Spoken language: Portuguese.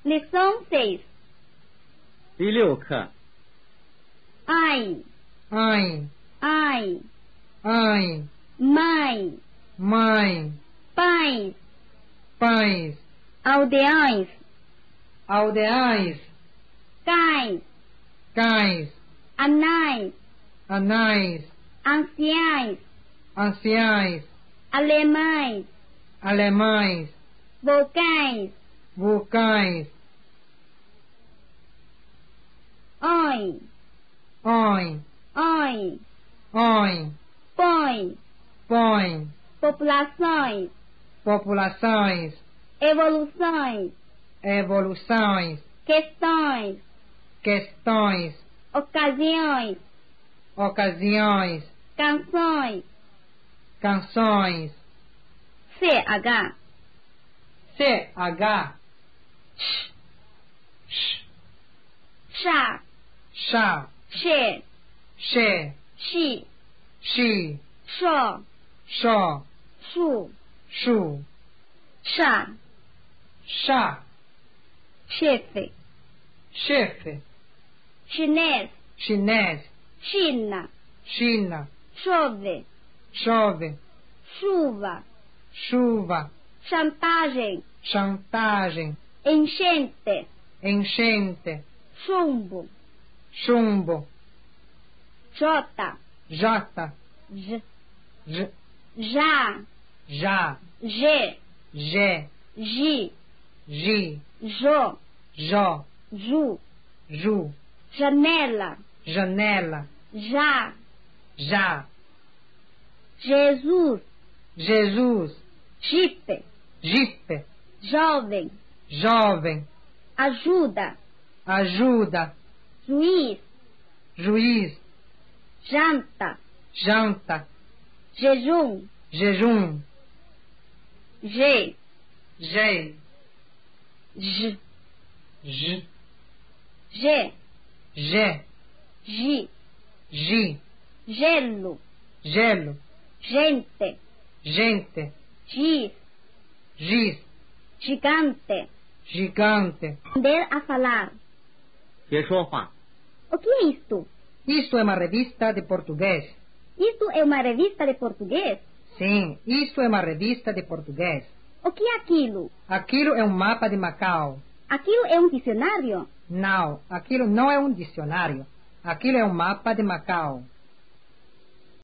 Lição 6. 第6课 Ai, Ai, ai, ai, mãe, mãe, pais, pais, aldeões, aldeais, cães, cães, anais, anais, anciães, anciães, alemães, alemães, vulcães, vulcães, oi, oi, oi, oi, põe, põe, populações, populações, evoluções, evoluções, questões, questões, ocasiões, ocasiões, canções, canções, CH, CH, chá, chá, che, che, chi, chi, xó, xó, chu, chu, chá, chá, chefe, chefe, chinês, chinês, China, China, chove, chove, chuva, chuva, chantagem, chantagem, enchente, enchente, chumbo, chumbo, jota, jota, j, j, já, já, g, G, gi, Gi, jo, Jó, ju, Ju, janela, janela, já, já, Jesus, Jesus, jipe, jipe, jovem, jovem, ajuda, ajuda, juiz, juiz, janta, janta, jejum, jejum, G, G, j, J, G, G, gi, Gi, gelo, gelo, gente, gente, giz, giz, gigante, gigante. aprender a falar. 学说话 O que é isto? Isto é uma revista de português. Isto é uma revista de português? Sim, isto é uma revista de português. O que é aquilo? Aquilo é um mapa de Macau. Aquilo é um dicionário? Não, aquilo não é um dicionário. Aquilo é um mapa de Macau.